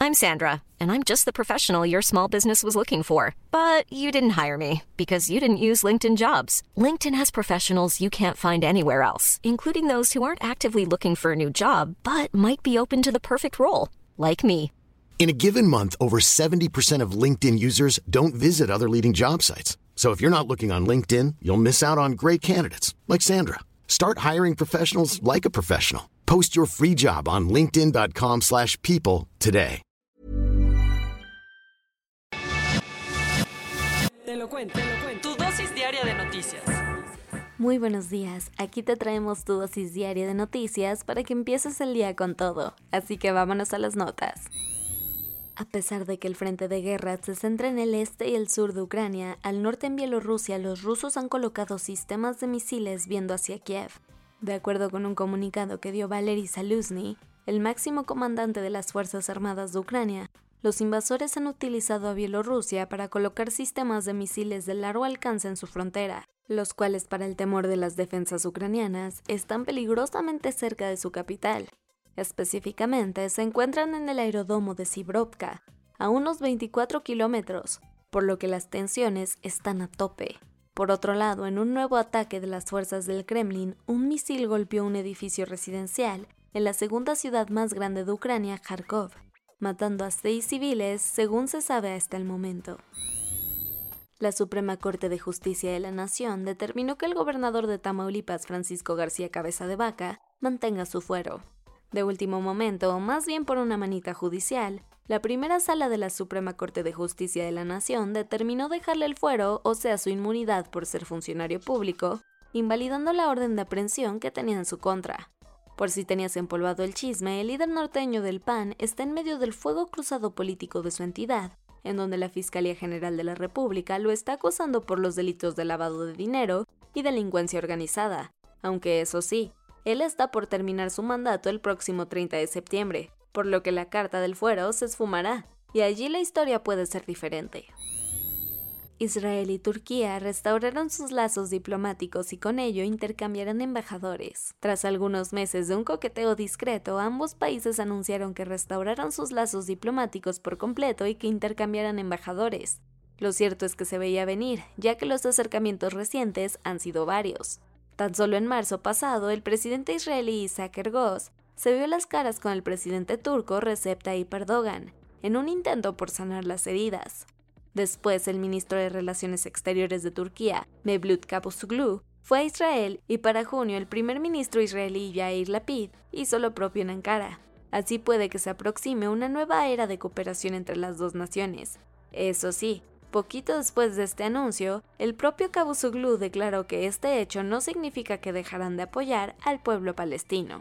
I'm Sandra, and I'm just the professional your small business was looking for. But you didn't hire me because you didn't use LinkedIn Jobs. LinkedIn has professionals you can't find anywhere else, including those who aren't actively looking for a new job, but might be open to the perfect role, like me. In a given month, over 70% of LinkedIn users don't visit other leading job sites. So if you're not looking on LinkedIn, you'll miss out on great candidates like Sandra. Start hiring professionals like a professional. Post your free job on linkedin.com/people today. Te lo cuento. Tu dosis diaria de noticias. Muy buenos días, aquí te traemos tu dosis diaria de noticias para que empieces el día con todo, así que vámonos a las notas. A pesar de que el frente de guerra se centra en el este y el sur de Ucrania, al norte en Bielorrusia los rusos han colocado sistemas de misiles viendo hacia Kiev. De acuerdo con un comunicado que dio Valery Zaluzny, el máximo comandante de las Fuerzas Armadas de Ucrania, los invasores han utilizado a Bielorrusia para colocar sistemas de misiles de largo alcance en su frontera, los cuales para el temor de las defensas ucranianas están peligrosamente cerca de su capital. Específicamente, se encuentran en el aeródromo de Sibrovka, a unos 24 kilómetros, por lo que las tensiones están a tope. Por otro lado, en un nuevo ataque de las fuerzas del Kremlin, un misil golpeó un edificio residencial en la segunda ciudad más grande de Ucrania, Kharkov, matando a 6 civiles, según se sabe hasta el momento. La Suprema Corte de Justicia de la Nación determinó que el gobernador de Tamaulipas, Francisco García Cabeza de Vaca, mantenga su fuero. De último momento, o más bien por una manita judicial, la primera sala de la Suprema Corte de Justicia de la Nación determinó dejarle el fuero, o sea su inmunidad por ser funcionario público, invalidando la orden de aprehensión que tenía en su contra. Por si tenías empolvado el chisme, el líder norteño del PAN está en medio del fuego cruzado político de su entidad, en donde la Fiscalía General de la República lo está acusando por los delitos de lavado de dinero y delincuencia organizada, aunque eso sí, él está por terminar su mandato el próximo 30 de septiembre, por lo que la carta del fuero se esfumará, y allí la historia puede ser diferente. Israel y Turquía restauraron sus lazos diplomáticos y con ello intercambiarán embajadores. Tras algunos meses de un coqueteo discreto, ambos países anunciaron que restauraron sus lazos diplomáticos por completo y que intercambiarán embajadores. Lo cierto es que se veía venir, ya que los acercamientos recientes han sido varios. Tan solo en marzo pasado, el presidente israelí Isaac Herzog se vio las caras con el presidente turco Recep Tayyip Erdogan, en un intento por sanar las heridas. Después, el ministro de Relaciones Exteriores de Turquía, Mevlut Cavusoglu, fue a Israel y para junio el primer ministro israelí Yair Lapid hizo lo propio en Ankara. Así puede que se aproxime una nueva era de cooperación entre las dos naciones. Eso sí, poquito después de este anuncio, el propio Cavusoglu declaró que este hecho no significa que dejarán de apoyar al pueblo palestino.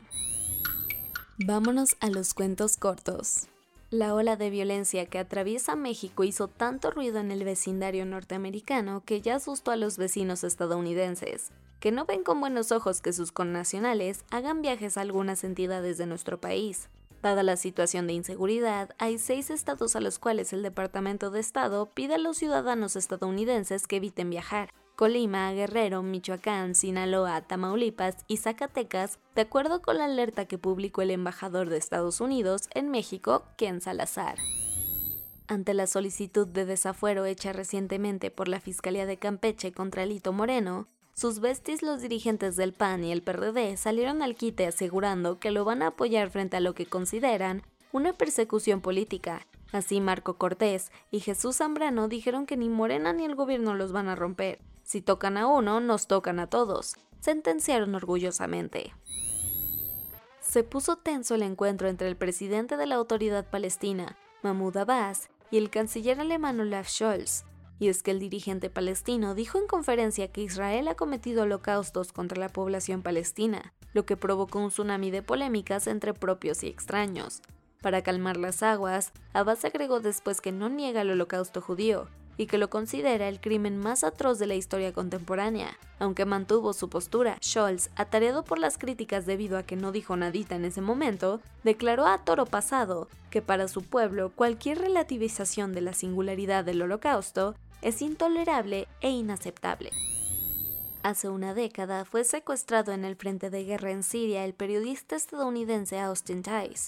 Vámonos a los cuentos cortos. La ola de violencia que atraviesa México hizo tanto ruido en el vecindario norteamericano que ya asustó a los vecinos estadounidenses, que no ven con buenos ojos que sus connacionales hagan viajes a algunas entidades de nuestro país. Dada la situación de inseguridad, hay 6 estados a los cuales el Departamento de Estado pide a los ciudadanos estadounidenses que eviten viajar: Colima, Guerrero, Michoacán, Sinaloa, Tamaulipas y Zacatecas, de acuerdo con la alerta que publicó el embajador de Estados Unidos en México, Ken Salazar. Ante la solicitud de desafuero hecha recientemente por la Fiscalía de Campeche contra Alito Moreno, sus besties, los dirigentes del PAN y el PRD, salieron al quite asegurando que lo van a apoyar frente a lo que consideran una persecución política. Así, Marco Cortés y Jesús Zambrano dijeron que ni Morena ni el gobierno los van a romper. Si tocan a uno, nos tocan a todos, sentenciaron orgullosamente. Se puso tenso el encuentro entre el presidente de la Autoridad Palestina, Mahmoud Abbas, y el canciller alemán Olaf Scholz. Y es que el dirigente palestino dijo en conferencia que Israel ha cometido holocaustos contra la población palestina, lo que provocó un tsunami de polémicas entre propios y extraños. Para calmar las aguas, Abbas agregó después que no niega el holocausto judío y que lo considera el crimen más atroz de la historia contemporánea. Aunque mantuvo su postura, Scholz, atareado por las críticas debido a que no dijo nadita en ese momento, declaró a toro pasado que para su pueblo cualquier relativización de la singularidad del holocausto es intolerable e inaceptable. Hace una década fue secuestrado en el frente de guerra en Siria el periodista estadounidense Austin Tice.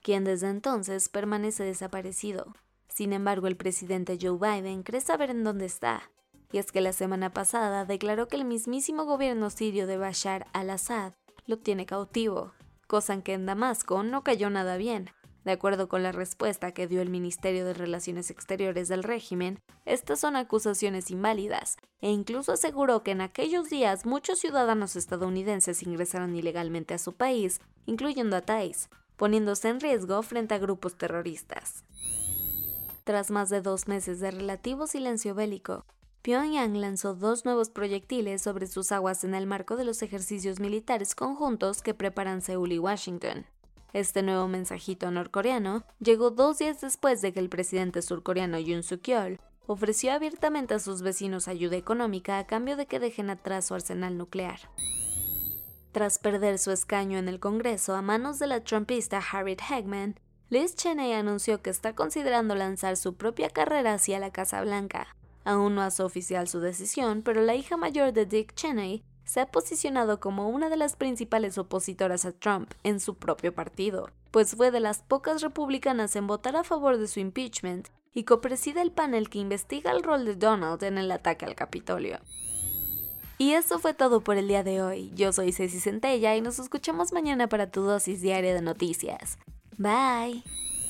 quien desde entonces permanece desaparecido. Sin embargo, el presidente Joe Biden cree saber en dónde está. Y es que la semana pasada declaró que el mismísimo gobierno sirio de Bashar al-Assad lo tiene cautivo, cosa en que en Damasco no cayó nada bien. De acuerdo con la respuesta que dio el Ministerio de Relaciones Exteriores del régimen, estas son acusaciones inválidas, e incluso aseguró que en aquellos días muchos ciudadanos estadounidenses ingresaron ilegalmente a su país, incluyendo a Thais, poniéndose en riesgo frente a grupos terroristas. Tras más de 2 meses de relativo silencio bélico, Pyongyang lanzó 2 nuevos proyectiles sobre sus aguas en el marco de los ejercicios militares conjuntos que preparan Seúl y Washington. Este nuevo mensajito norcoreano llegó 2 días después de que el presidente surcoreano Yoon Suk-yeol ofreció abiertamente a sus vecinos ayuda económica a cambio de que dejen atrás su arsenal nuclear. Tras perder su escaño en el Congreso a manos de la trumpista Harriet Hagman, Liz Cheney anunció que está considerando lanzar su propia carrera hacia la Casa Blanca. Aún no hace oficial su decisión, pero la hija mayor de Dick Cheney se ha posicionado como una de las principales opositoras a Trump en su propio partido, pues fue de las pocas republicanas en votar a favor de su impeachment y copreside el panel que investiga el rol de Donald en el ataque al Capitolio. Y eso fue todo por el día de hoy. Yo soy Ceci Centella y nos escuchamos mañana para tu dosis diaria de noticias. Bye.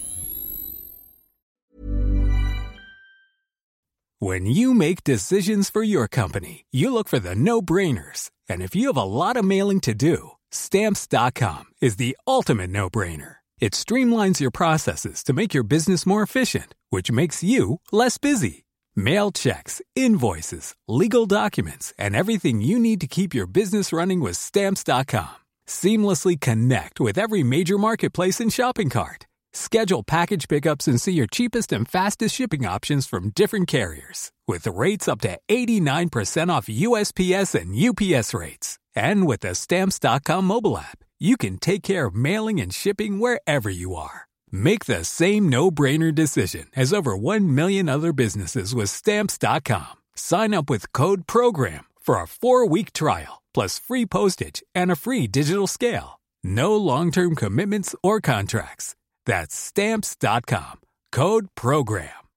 When you make decisions for your company, you look for the no-brainers. And if you have a lot of mailing to do, Stamps.com is the ultimate no-brainer. It streamlines your processes to make your business more efficient, which makes you less busy. Mail checks, invoices, legal documents, and everything you need to keep your business running with Stamps.com. Seamlessly connect with every major marketplace and shopping cart. Schedule package pickups and see your cheapest and fastest shipping options from different carriers, with rates up to 89% off USPS and UPS rates. And with the Stamps.com mobile app, you can take care of mailing and shipping wherever you are. Make the same no-brainer decision as over 1 million other businesses with Stamps.com. Sign up with code PROGRAM for a 4-week trial, plus free postage and a free digital scale. No long-term commitments or contracts. That's Stamps.com. Code PROGRAM.